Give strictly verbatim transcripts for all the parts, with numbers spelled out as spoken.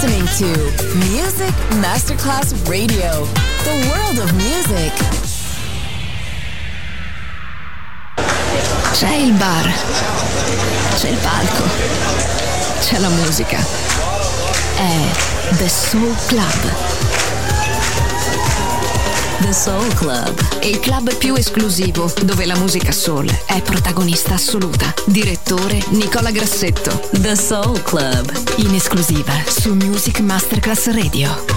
listening to Music Masterclass Radio, the world of music. C'è il bar, c'è il palco, c'è la musica. È The Soul Club. The Soul Club, il club più esclusivo dove la musica soul è protagonista assoluta. Direttore Nicola Grassetto. The Soul Club, in esclusiva su Music Masterclass Radio.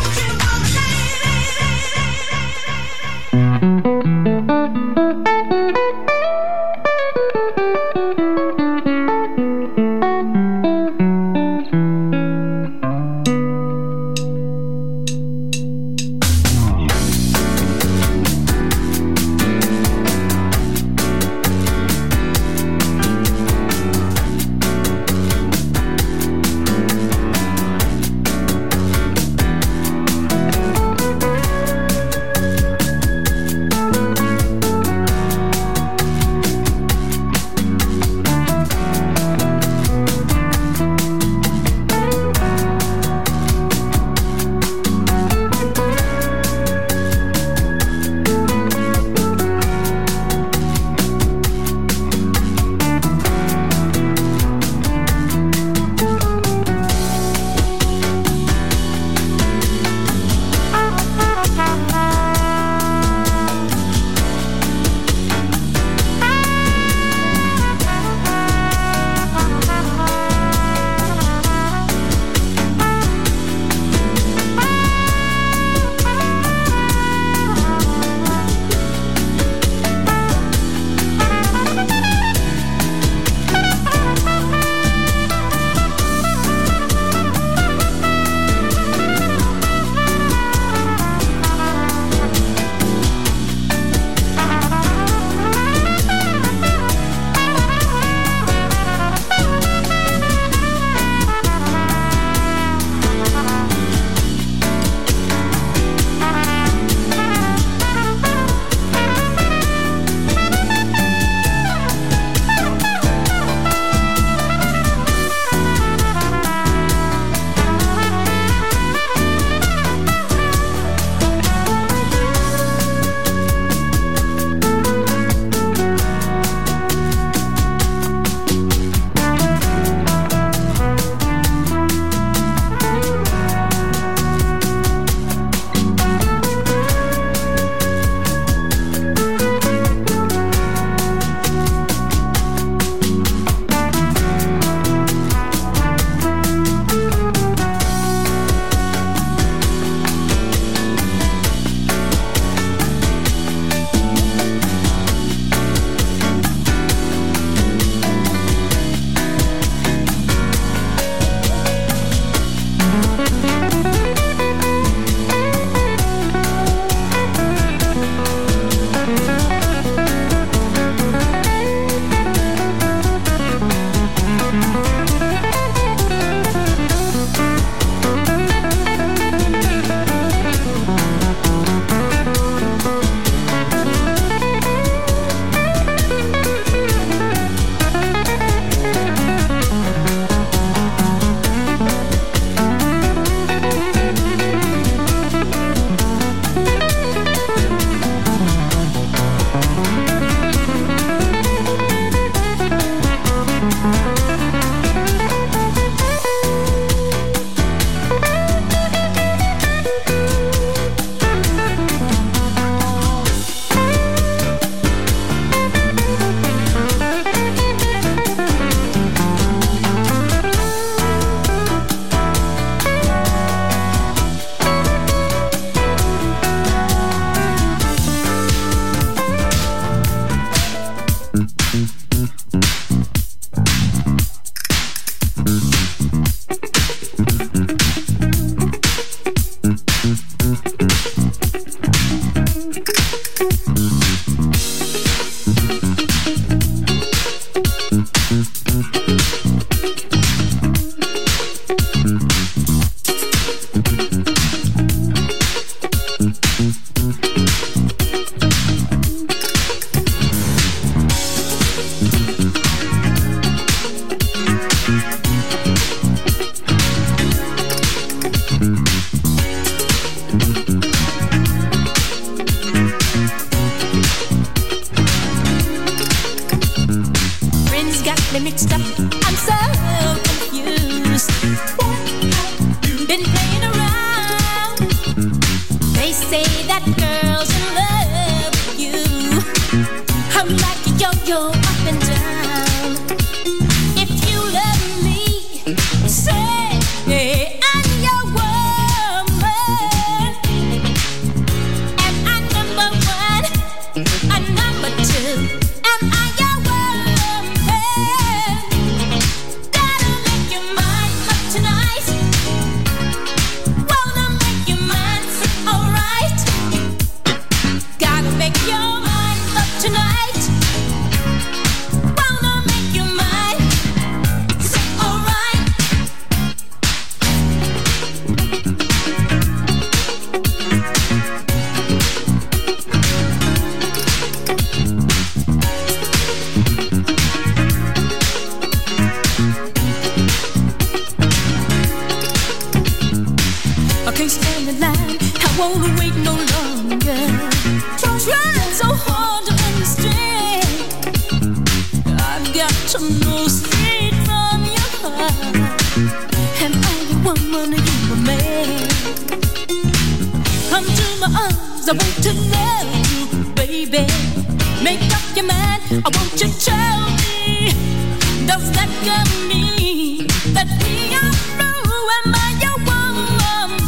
won't wait no longer. Trying so hard to understand. I've got to know straight from your heart. And only one woman, you a man. Come to my arms, I want to love you, baby. Make up your mind, I want you to tell me. Does that girl mean that we are through? Am I your woman?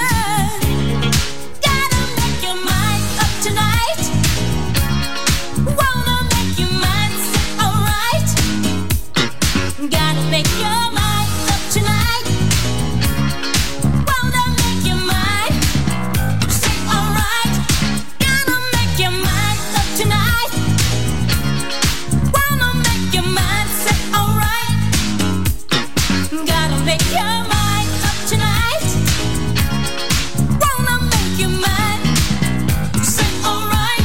Gotta make your mind up tonight. Wanna make your mind say alright. Gotta make your mind up tonight. Wanna make your mind say alright. Gotta make your mind up tonight. Wanna make your mind say alright. Gotta make your mind up tonight. Wanna make your mind say alright.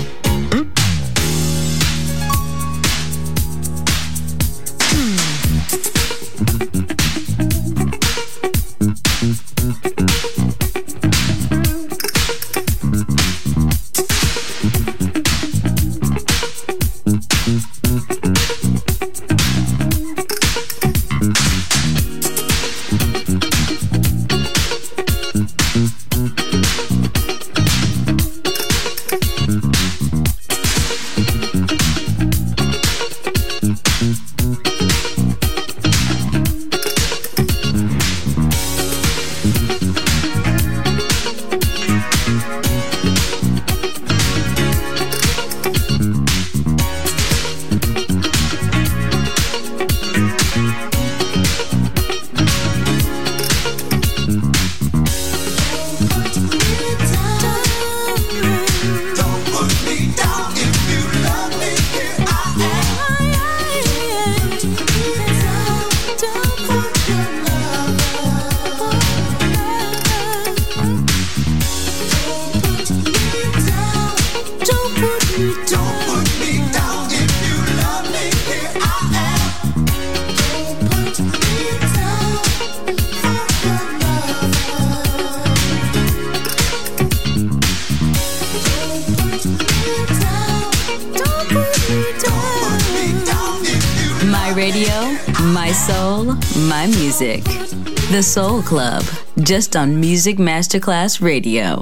My music. The Soul Club. Just on Music Masterclass Radio.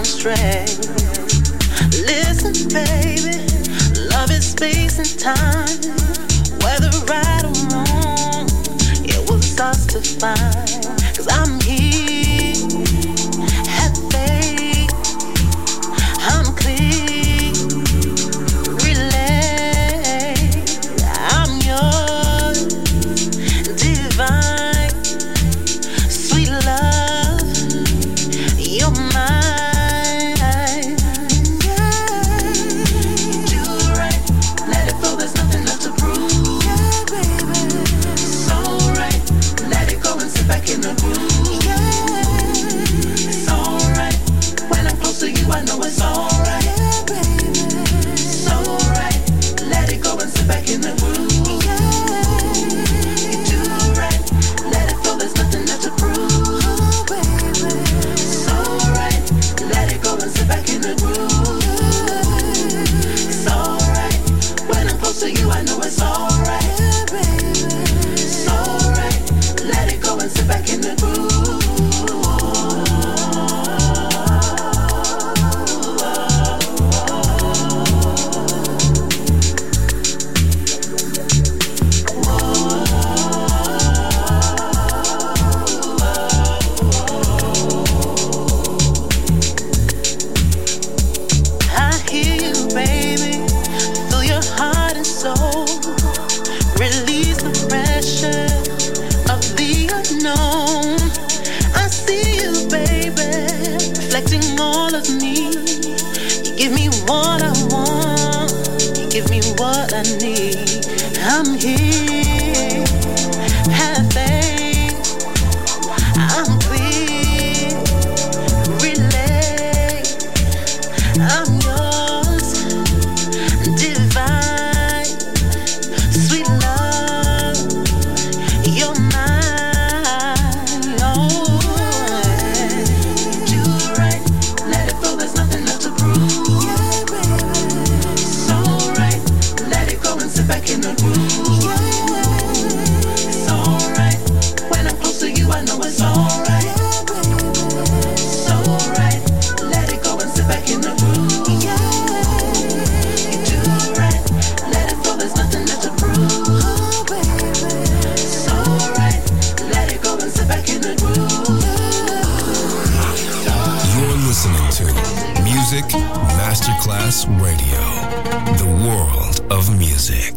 astray. Listen, baby, love is space and time. Whether right or wrong, it was us to find. 'Cause I'm here, have faith, I'm clear, relay, I'm yours, divine, sweet love, you're mine. Do right, let it flow, there's nothing left to prove. Yeah, baby. So right, let it go and sit back in the groove. Yeah. It's alright, when I'm close to you I know it's alright. Yeah, baby. So right, let it go and sit back in the groove. Yeah. You do right, let it flow, there's nothing left to prove. Oh, baby. So right, let it go and sit back in the groove. It's alright, when I'm close to you I know it's alright. Yeah, baby. It's alright, let it go and sit back in the groove. I hear you, baby. Feel your heart and soul. Release the pressure of the unknown. I see you, baby, reflecting all of me. You give me what I want. You give me what I need. I'm here. Have faith. I'm clear. Relay. I'm yours, divine, sweet love, you're mine. Oh, do right, let it flow, there's nothing left to prove. Yeah, baby. So right, let it go and sit back in the groove. Yeah. It's alright, when I'm close to you I know it's alright. Yeah, baby. So right, let it go and sit back in the groove. Yeah. You do right, let it flow, there's nothing left to prove. Oh, baby. So right, let it go and sit back in the groove. You're listening to Music Masterclass Radio, the world of music.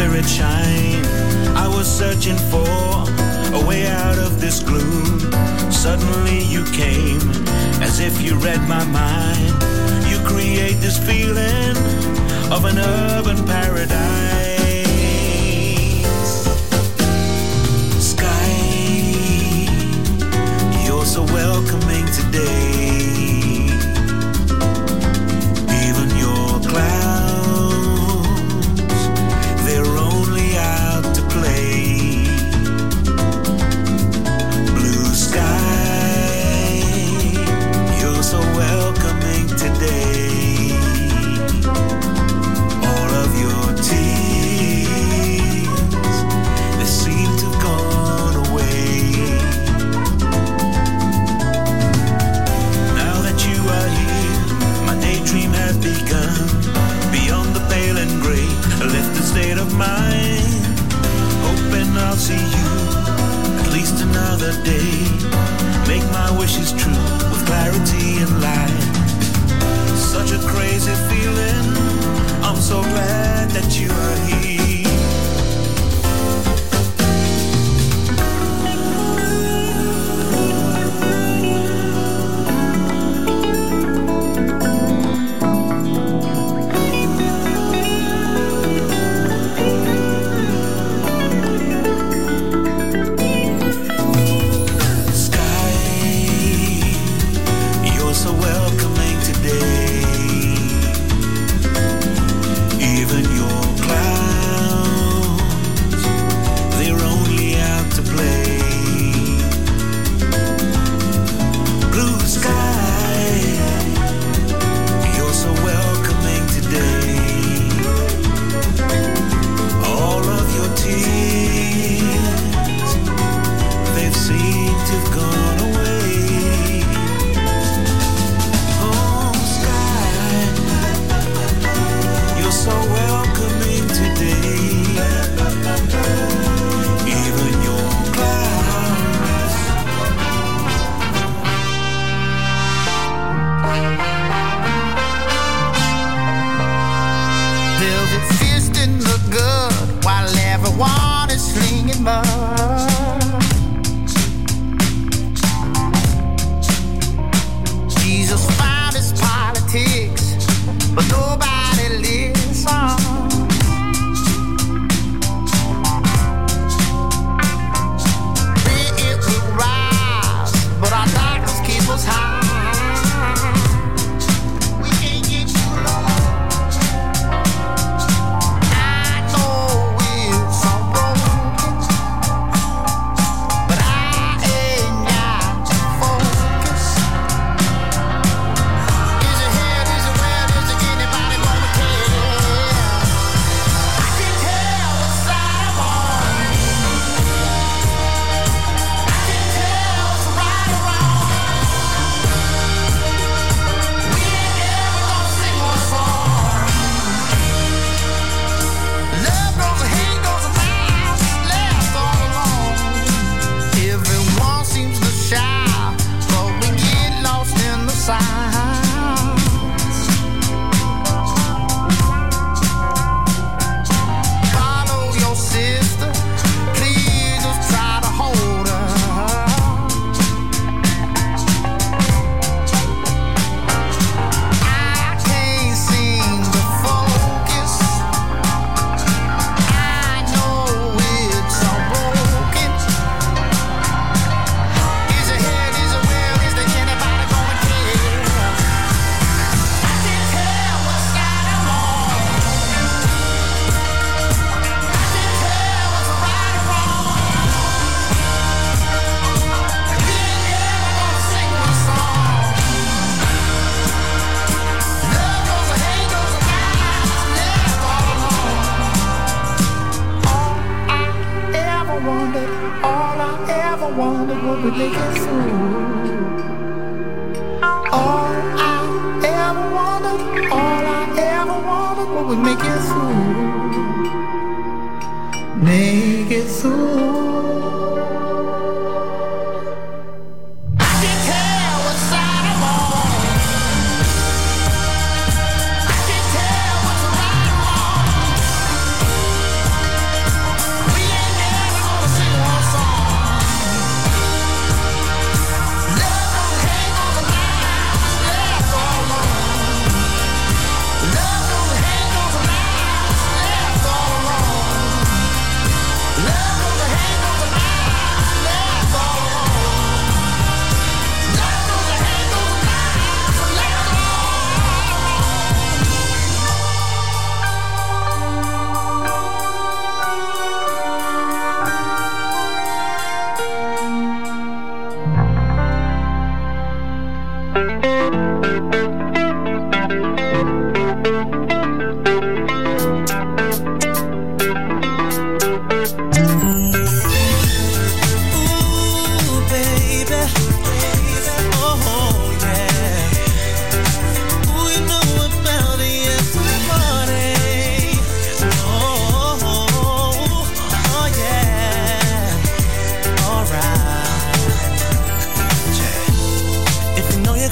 spirit shine. I was searching for a way out of this gloom. Suddenly you came, as if you read my mind. You create this feeling of an urban paradise. Sky, you're so welcoming today. Even your clouds, they're only out to play. Blue sky, you're so welcoming today. All of your tears, they seem to have gone away. Now that you are here, my daydream has begun. Beyond the pale and gray, I left the state of mind, hoping I'll see you at least another day. Make my wishes true with clarity and light. Such a crazy feeling, I'm so glad that you are here.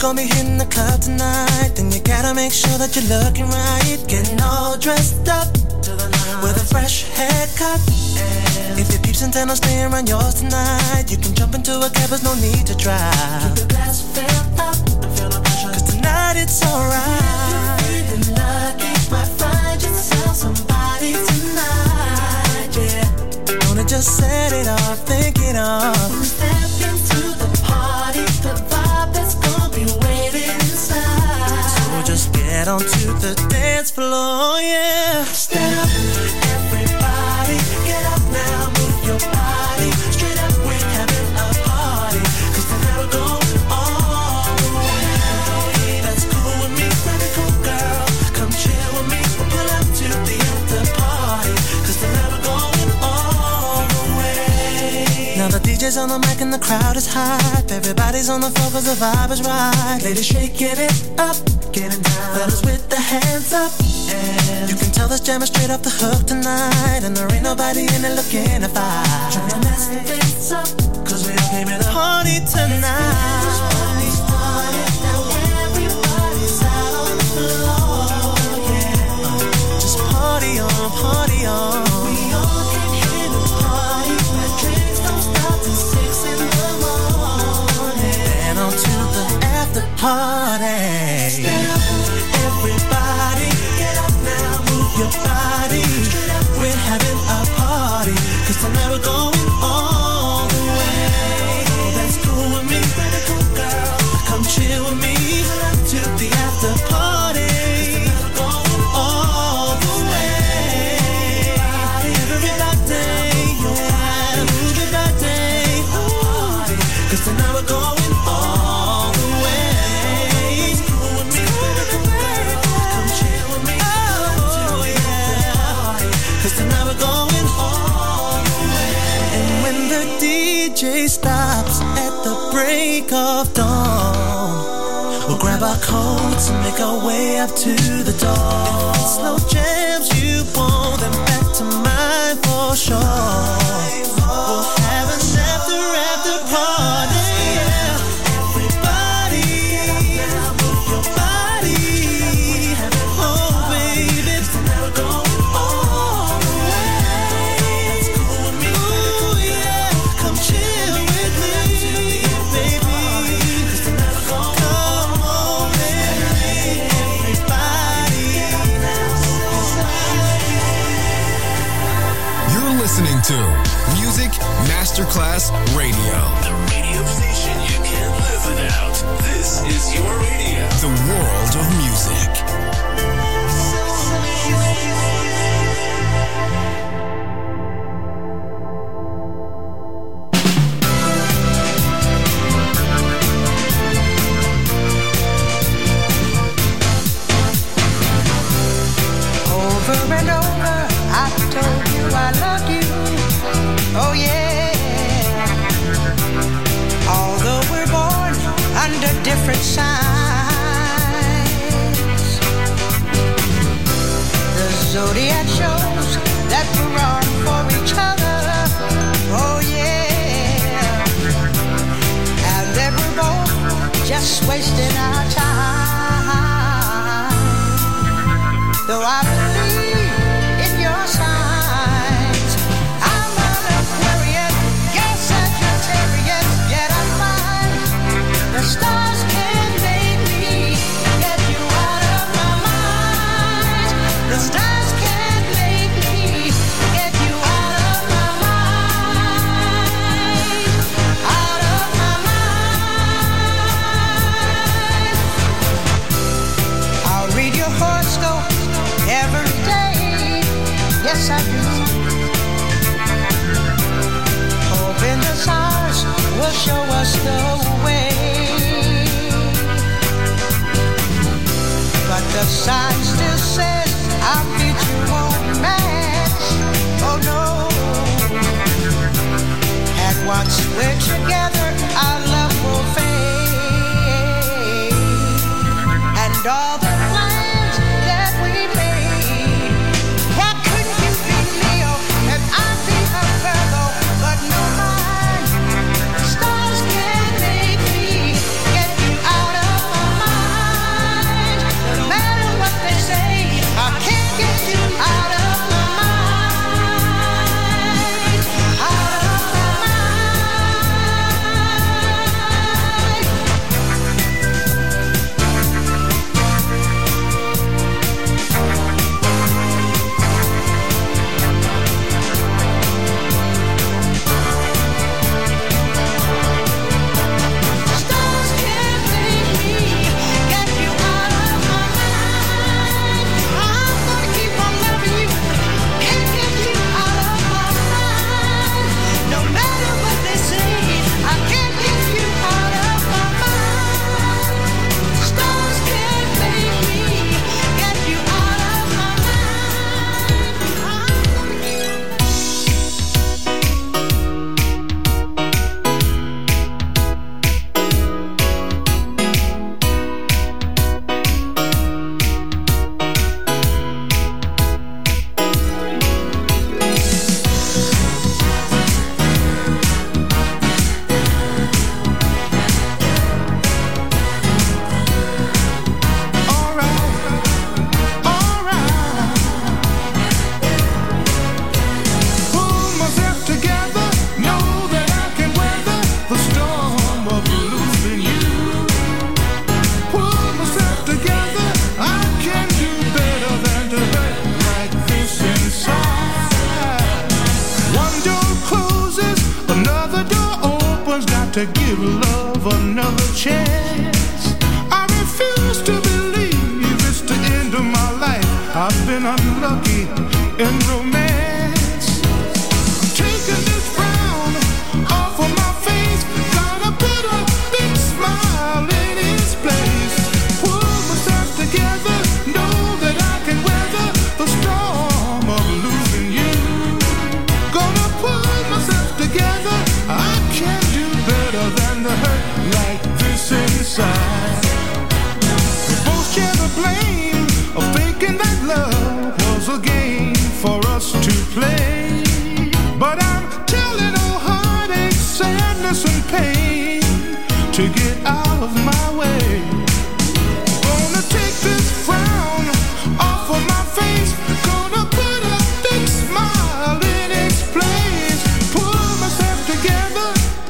gonna be hitting the club tonight, then you gotta make sure that you're looking right. Getting all dressed up with a fresh haircut. And if your peeps intend on staying around yours tonight, you can jump into a cab, there's no need to drive. Keep the glass filled up and feel no pressure, 'cause tonight it's alright. If you're feeling lucky, might find yourself somebody tonight, yeah. Gonna just set it off, think it off. Step into the party, the vibe that's gonna be waiting inside. So just get onto the dance floor, yeah. Stand up, everybody, get up now, move your body. Straight up, we're having a party, 'cause tonight we're going all the way. That's cool with me, pretty cool girl. Come chill with me, we'll pull up to the after party, 'cause tonight we're going all the way. Now the D J's on the mic and the crowd is hype. Everybody's on the floor 'cause the vibe is right. Ladies shaking it up, getting down. Fellas with the hands up. And you can tell this jam is straight off the hook tonight, and there ain't nobody in it looking to fight. Trying to mess things up, 'cause we all came in to party tonight. This party started, now everybody's out on the floor, yeah. Just party on, party on. We all came here to party, where drinks don't stop till six in the morning. And on to the after party. Stand up, everybody, get up now, move your body. We're having a party, 'cause tonight we're going all the way. That's cool with me, pretty cool girl. Come chill with me to the after party, 'cause tonight we're going all the way. Everybody, yeah, move your body, ooh, 'cause tonight we're going all the way. It's cool with me, pretty cool girl. Come chill with me, oh yeah, 'cause tonight we're going all the way. And when the D J stops at the break of dawn, we'll grab our coats and make our way up to the door. If it's slow jams you want, then back to mine for sure. We'll have an after after party, yeah. Everybody, move your body. Oh baby, tonight we're going all the way. That's cool with me, ooh yeah. Come chill with me, baby, 'cause tonight we're going. Come on, baby, everybody. You're listening to Music Masterclass Radio. The radio station you can't live without. This is your radio. The world of music. Over and over, I've told you I love you. Oh yeah. Although we're born under different signs, the zodiac shows that we're wrong for each other. Oh yeah. And that we're both just wasting our time. Though I believe in your signs, I'm an Aquarian, yes, Sagittarius, yet I find the stars can make me get you out of my mind. The stars can make me get you out of my mind, out of my mind. I'll read your horoscope every day, yes I do. Hoping the stars will show us the way. But the sign still says our future won't match. Oh no. And once we're together, our love will fade. And all the plans that we made, why couldn't you be Leo and I be a Virgo? But no mind, stars can make me get you out of my to give love another chance. I refuse to believe it's the end of my life. I've been unlucky in romance. I'm taking this frown off of my face. Gotta put a big smile in its place. Pull myself together, know that I can weather the storm of losing you. Gonna pull myself together, I can't do better than to hurt like this inside. We both share the blame of thinking that love was a game for us to play. But I'm telling all heartache, sadness and pain to get out of my way. Gonna take this frown off of my face. Gonna put a big smile in its place. Pull myself together.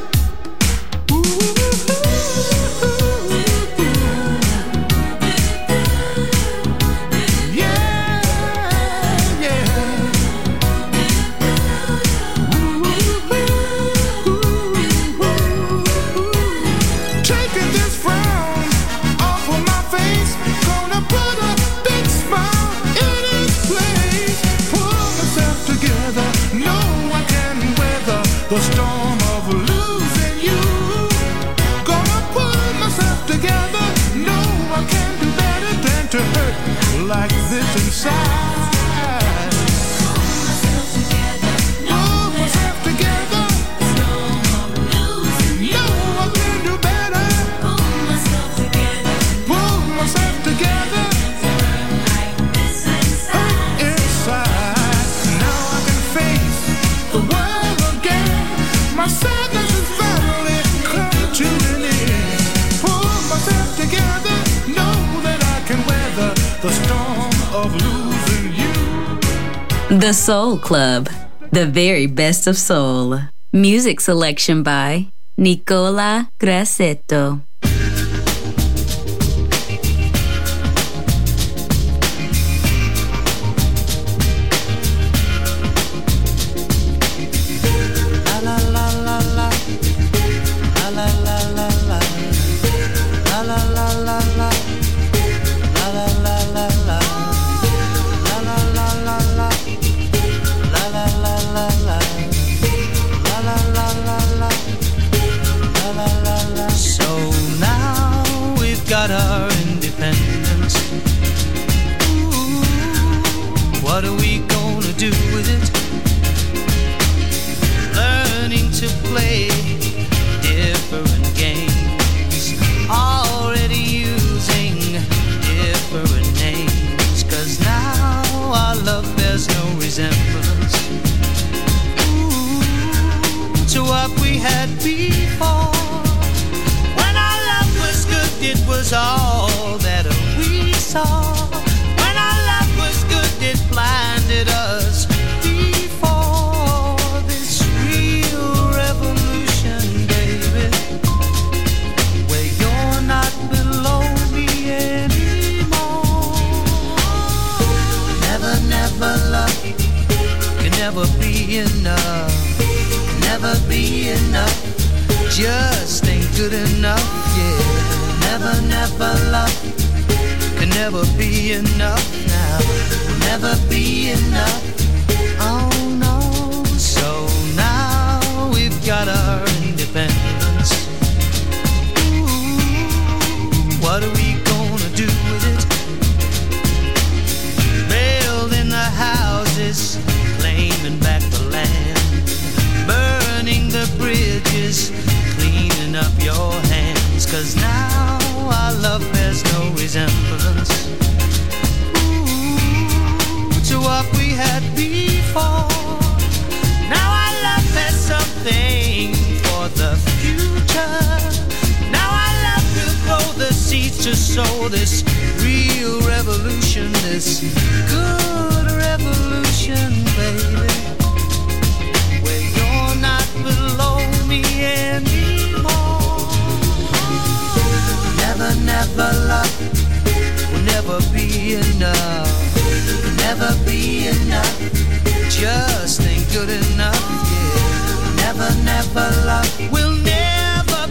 The storm of losing you. Gonna pull myself together. No, I can't do better than to hurt like this inside. Pull myself together. Pull myself together. Storm of losing you. No, I can't do better. Pull myself together. Pull myself together. Like this inside. Inside. Now I can face the world again. My sadness is finally come to an end. Pull myself together, know that I can weather the storm of losing you. The Soul Club, the very best of soul. Music selection by Nicola Grassetto. Our independence. Ooh, what are we gonna do with it? Learning to play different games, already using different names, 'cause now our love bears no resemblance Ooh, to what we had before. It was all that we saw. When our love was good, it blinded us before this real revolution, baby, where you're not below me anymore. Never, never love can never be enough. Never be enough. Just ain't good enough, yeah. Never, never love can never be enough now. Never be enough, oh no. So now we've got our independence. Ooh, what are we gonna do with it? Building the houses, claiming back the land, burning the bridges, cleaning up your hands, 'cause now our love bears no resemblance Ooh, to what we had before. Now our love has something for the future. Now our love will grow the seeds to sow this real revolution, this good revolution, baby, where you're not below me anymore. Never, never love will never be enough. Never be enough. Just ain't good enough, yeah. Never, never love will never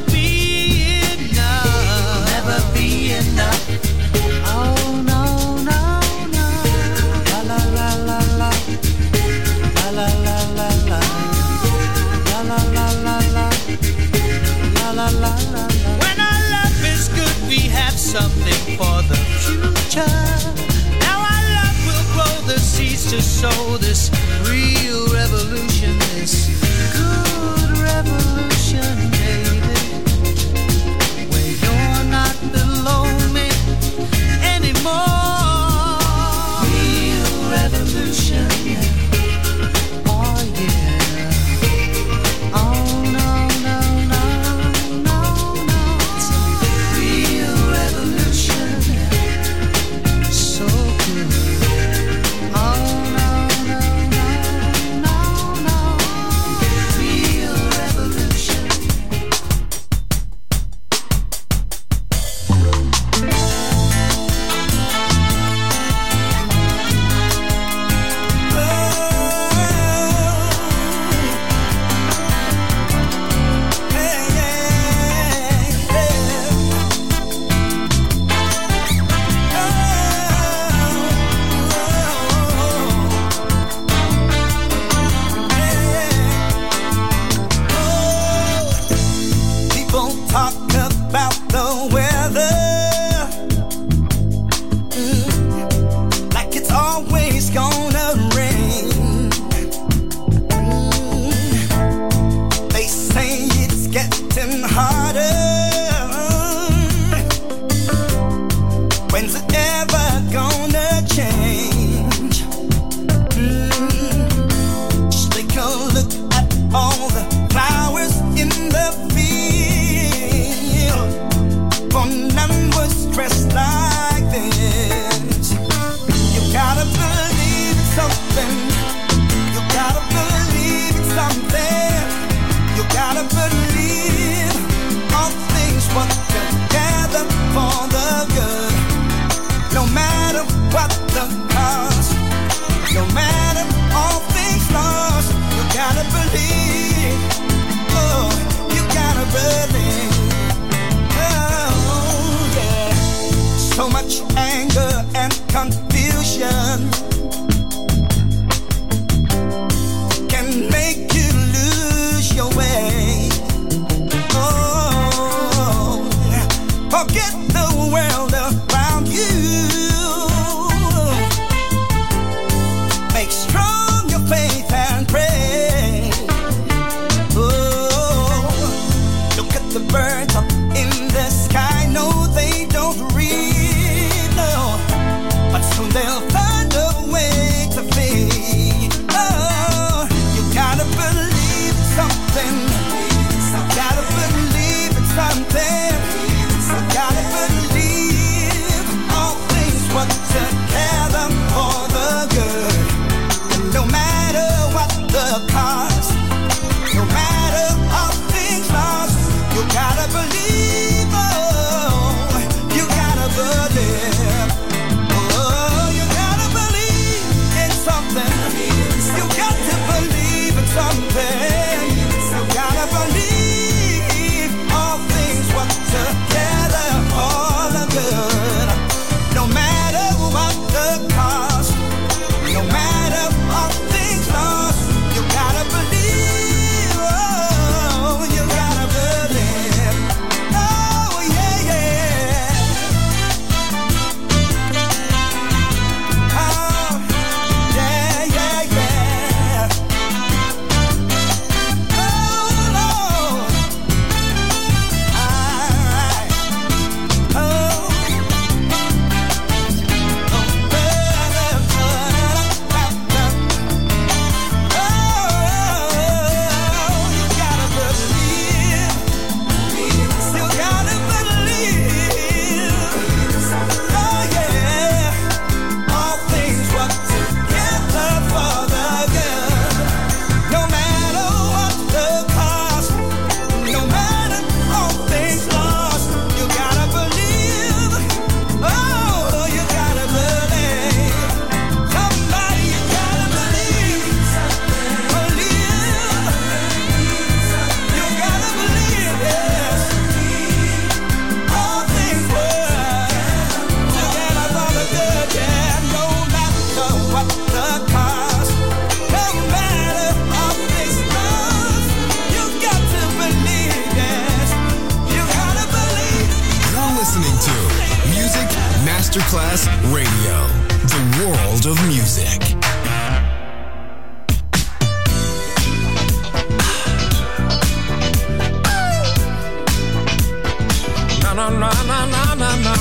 something for the future. Now our love will grow the seeds to sow this real revolution, this good revolution, baby. Where you're not below me anymore. Real revolution. Masterclass Radio, the world of music. Na na na na na na na.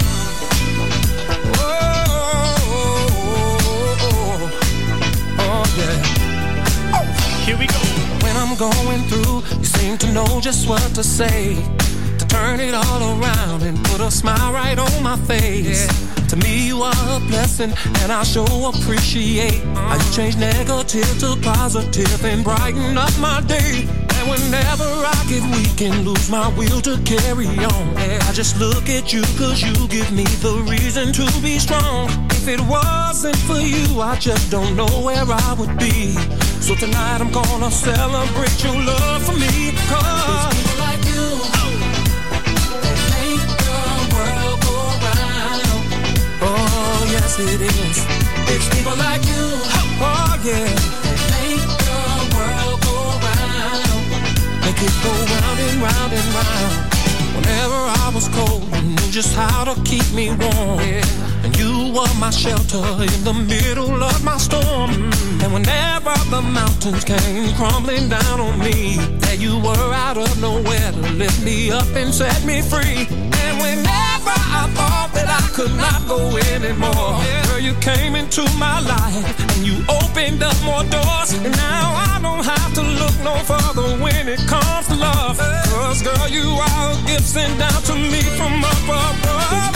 Oh, oh, oh, oh, yeah. Oh, here we go. When I'm going through, you seem to know just what to say. Turn it all around and put a smile right on my face. Yeah. To me you are a blessing and I sure appreciate uh-huh. how you change negative to positive and brighten up my day. And whenever I get weak and lose my will to carry on, yeah, I just look at you cause you give me the reason to be strong. If it wasn't for you, I just don't know where I would be. So tonight I'm gonna celebrate your love for me. Cause it's people like you, oh, that make the world go round. Oh yes it is. It's people like you, oh yeah, that make the world go round. Make it go round and round and round. Whenever I was cold, you knew just how to keep me warm. Yeah. And you were my shelter in the middle of my storm. Mm. And whenever the mountains came crumbling down on me, there you were out of nowhere to lift me up and set me free. And whenever I thought that I could not go anymore, yeah, girl, you came into my life and you opened up more doors. And now I don't have to look no further when it comes to love. Cause girl, you are a gift sent down to me from up above.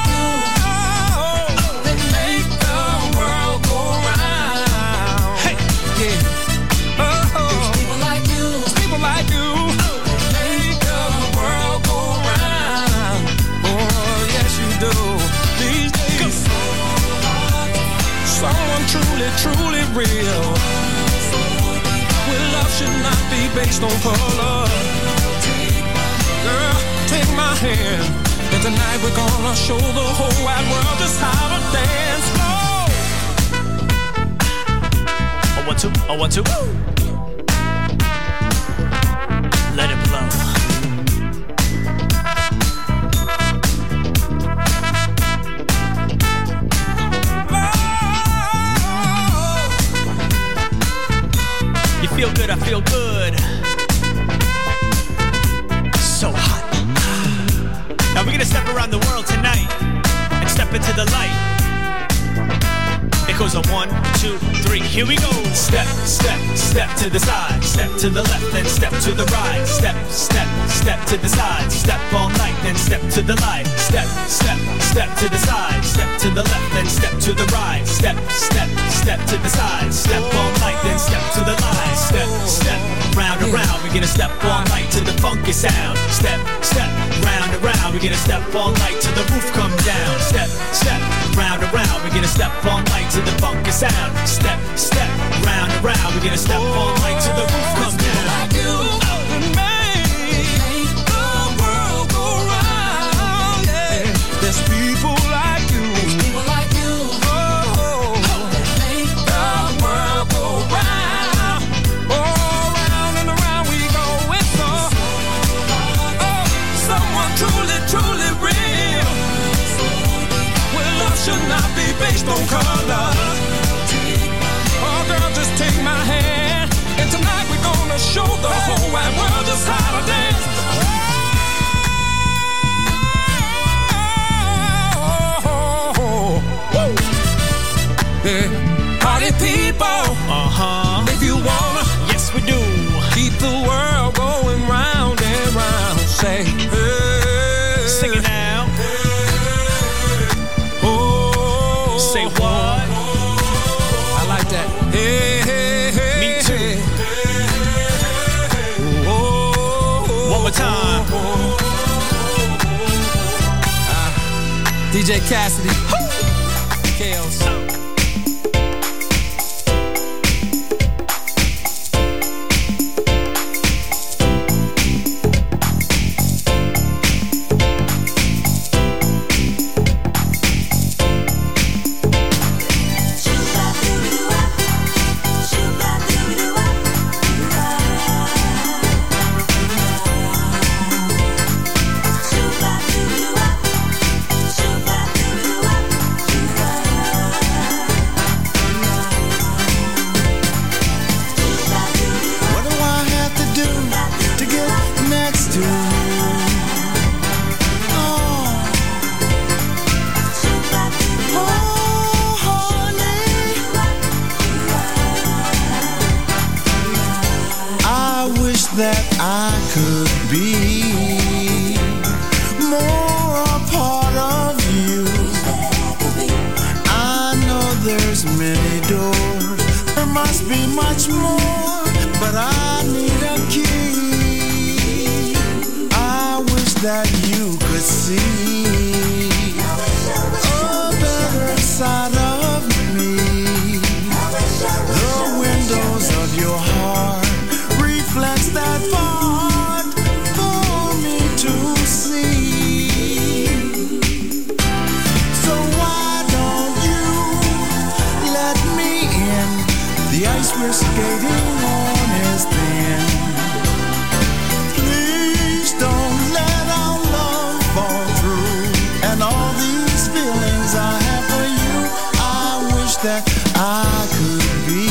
Truly real. Well, love should not be based on color. Girl, take my hand, and tonight we're gonna show the whole wide world just how to dance slow. Oh, one, two, oh, one, two. Let it blow. Feel good, I feel good. So hot. Now we're gonna step around the world tonight and step into the light. It goes on one, two, three, here we go. Step, step, step to the side. Step to the left, then step to the right. Step, step, step to the side. Step all night, then step to the light. Step, step, step to the side. Step to the left, then step to the right. Step, step, step to the side. Step all night, then step to the light. Step, step, round and round. We're gonna step all night to the funky sound. Step, step, round and round. We're gonna step all night till the roof comes down. Step, step, round and round. We're gonna step all night to the funky sound. Step, step, round and round. We're gonna step all night till the roof comes down. Like you and me, make the world go round. Yeah, there's people like you. There's people like you. Oh, that make the world go round. Oh, round and around we go. It's so, oh, someone truly, truly real. Well, love should not be based on color. Oh, girl, just take my hand, and tonight we're gonna show the whole wide world just how to dance. Oh, woo. Yeah. Party people, uh-huh. If you wanna, yes we do. Keep the world going round and round. Say, hey. Sing it now. Oh, say what? I like that. Hey, hey, hey. Me too. Oh, one more time. Uh, D J Cassidy. Chaos. Shoo-ba-doo-doo-wop, shoo-ba-doo-doo-wop. that I could be more a part of you. I know there's many doors, there must be much more, but I need a key. I wish that you could see a better side of me. The windows of your heart reflects that part for me to see. So why don't you let me in? The ice we're skating on is thin. Please don't let our love fall through. And all these feelings I have for you, I wish that I could be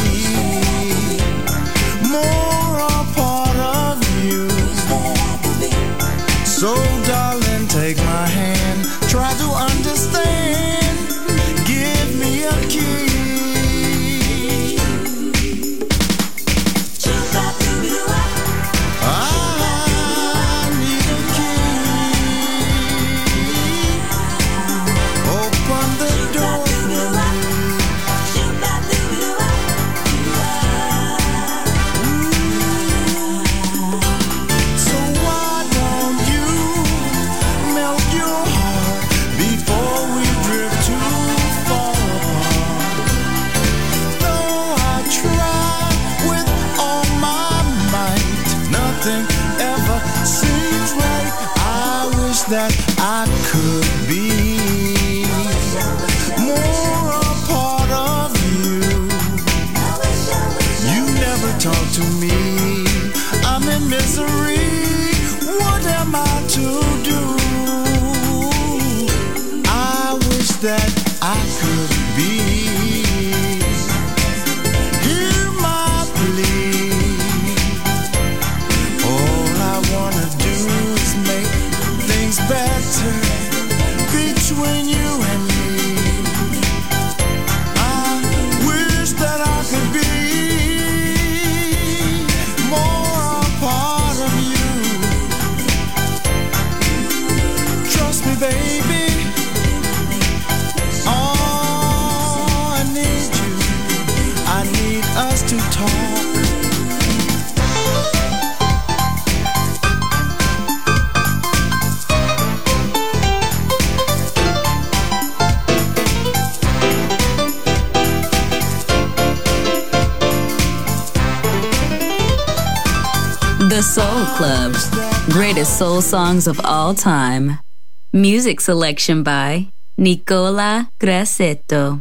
more a part of you. So darling, take my hand, try to understand, give me a key. I need a key. Open the door for me. So why don't you melt your heart before we drift too far apart? Though I try with all my might, nothing ever seems right. I wish that I could be more a part of you. You never talk to me, I'm in misery. What am I to do? I wish that I could be. Hear my plea. All I wanna do is make things better between you and me. I wish that I could be more a part of you. Trust me, baby. Oh, I need you. I need us to talk. The Soul Club. Greatest soul songs of all time. Music selection by Nicola Grassetto.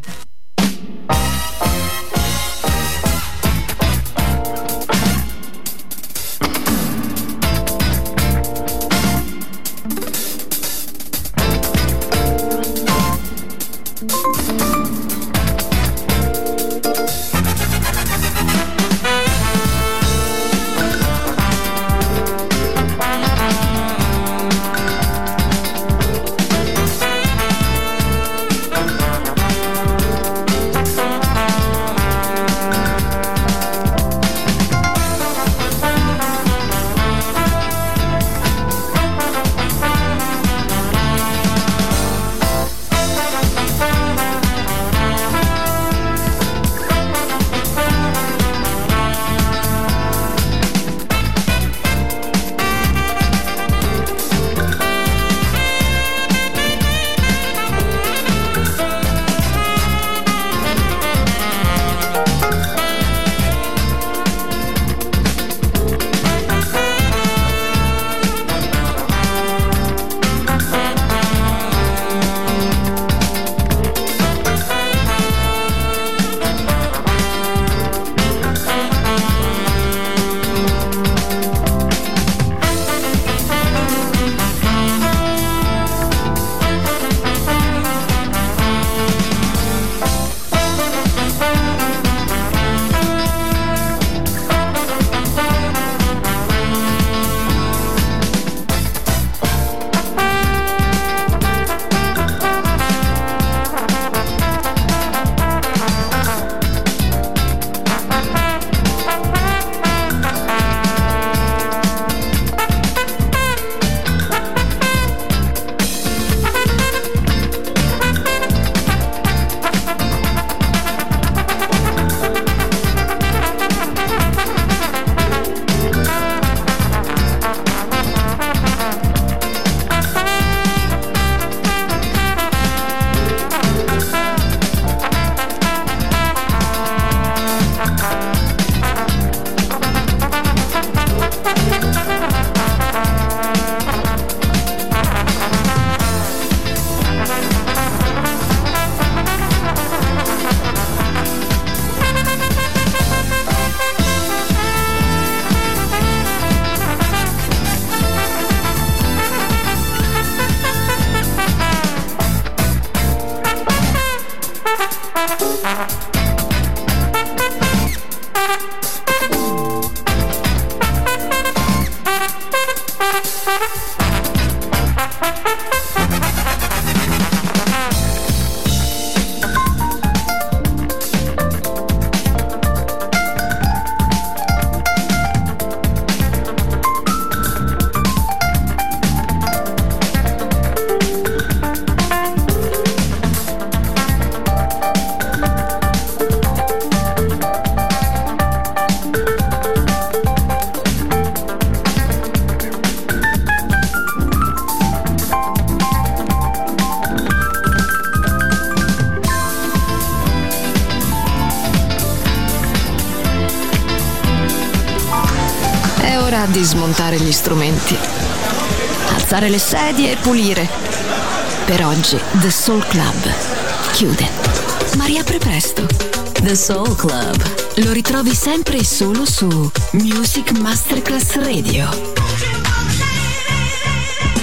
di smontare gli strumenti, alzare le sedie e pulire. Per oggi The Soul Club chiude, ma riapre presto. The Soul Club lo ritrovi sempre e solo su Music Masterclass Radio.